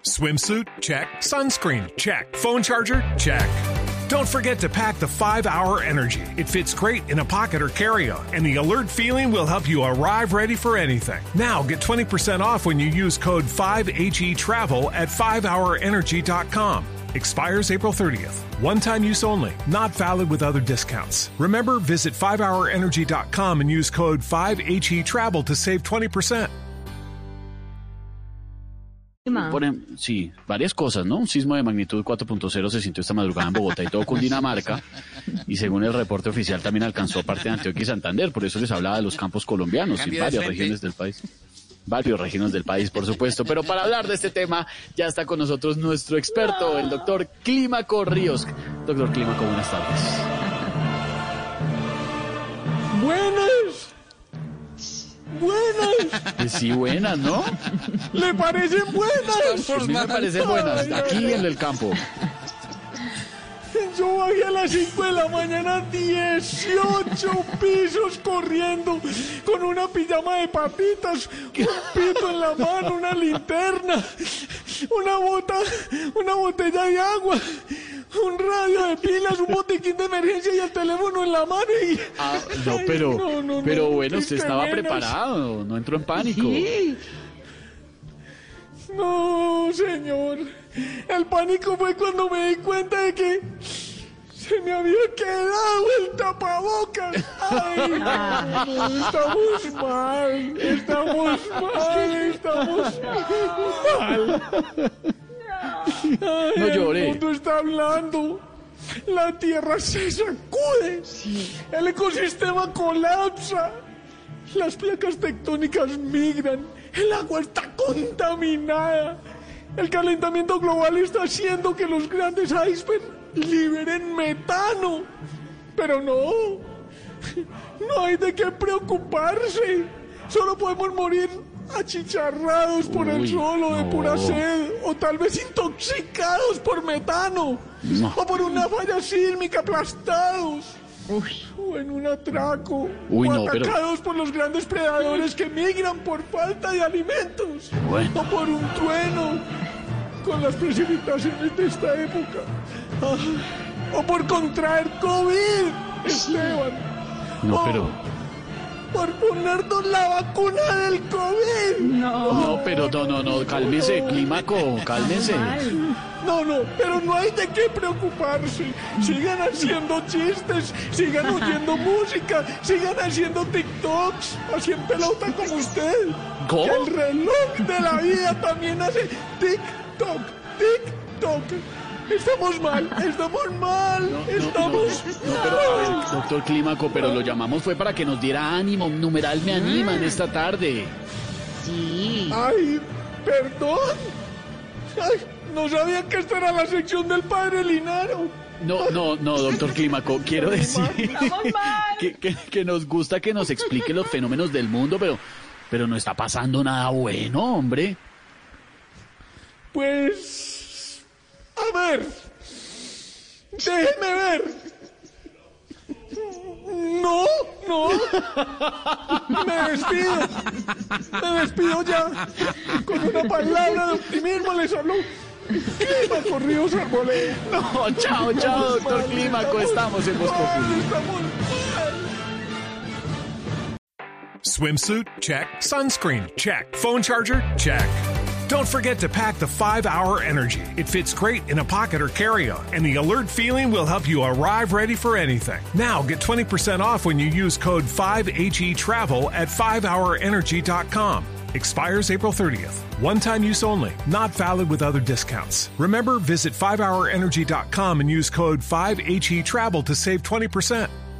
Swimsuit? Check. Sunscreen? Check. Phone charger? Check. Don't forget to pack the 5-Hour Energy. It fits great in a pocket or carry-on, and the alert feeling will help you arrive ready for anything. Now get 20% off when you use code 5HETRAVEL at 5hourenergy.com. Expires April 30th. One-time use only. Not valid with other discounts. Remember, visit 5hourenergy.com and use code 5HETRAVEL to save 20%. Sí, varias cosas, ¿no? Un sismo de magnitud 4.0 se sintió esta madrugada en Bogotá y todo Cundinamarca, y según el reporte oficial también alcanzó parte de Antioquia y Santander, por eso les hablaba de los campos colombianos y varias regiones del país. Varias regiones del país, por supuesto, pero para hablar de este tema ya está con nosotros nuestro experto, el doctor Clímaco Ríos. Doctor Clímaco, buenas tardes. Buenas. Sí, buenas, ¿no? ¿Le parecen buenas? A mí me parecen buenas, aquí en el campo. Yo bajé a las 5 de la mañana 18 pisos corriendo con una pijama de papitas, un pito en la mano, una linterna, una botella de agua, un radio de pilas, un botiquín de emergencia y el teléfono en la mano y... No, pero bueno, usted estaba preparado, no entró en pánico. ¿Sí? No, señor. El pánico fue cuando me di cuenta de que se me había quedado el tapabocas. Ay, no, estamos mal. Ay, No llore. El mundo está hablando. La tierra se sacude. El ecosistema colapsa. Las placas tectónicas migran. El agua está contaminada. El calentamiento global está haciendo que los grandes icebergs liberen metano. Pero no hay de qué preocuparse. Solo podemos morir achicharrados por el sol o de pura sed, o tal vez intoxicados por metano, o por una falla sísmica aplastados. O en un atraco, o atacados por los grandes predadores que migran por falta de alimentos, o por un trueno con las precipitaciones de esta época, o por contraer COVID, Esteban. Por ponernos la vacuna del COVID. No, cálmese, Clímaco, cálmese. Pero no hay de qué preocuparse. Sigan haciendo chistes, sigan oyendo música, sigan haciendo TikToks, así en pelota como usted. ¿Cómo? Que el reloj de la vida también hace TikTok. Estamos mal. Doctor Clímaco, pero lo llamamos fue para que nos diera ánimo, numeral me animan esta tarde. Sí. Ay, perdón. Ay, no sabía que esta era la sección del padre Linaro. No, doctor Clímaco, quiero decir que nos gusta que nos explique los fenómenos del mundo, pero no está pasando nada bueno, hombre. Pues, a ver, déjeme ver. No, me despido ya. Con una palabra de optimismo les habló Clímaco Ríos Arboleda. No, chao, doctor Clímaco, estamos en Voz Populi. Swimsuit? Check. Sunscreen? Check. Phone charger? Check. Don't forget to pack the 5-Hour Energy. It fits great in a pocket or carry-on, and the alert feeling will help you arrive ready for anything. Now get 20% off when you use code 5HETRAVEL at 5hourenergy.com. Expires April 30th. One-time use only. Not valid with other discounts. Remember, visit 5hourenergy.com and use code 5HETRAVEL to save 20%.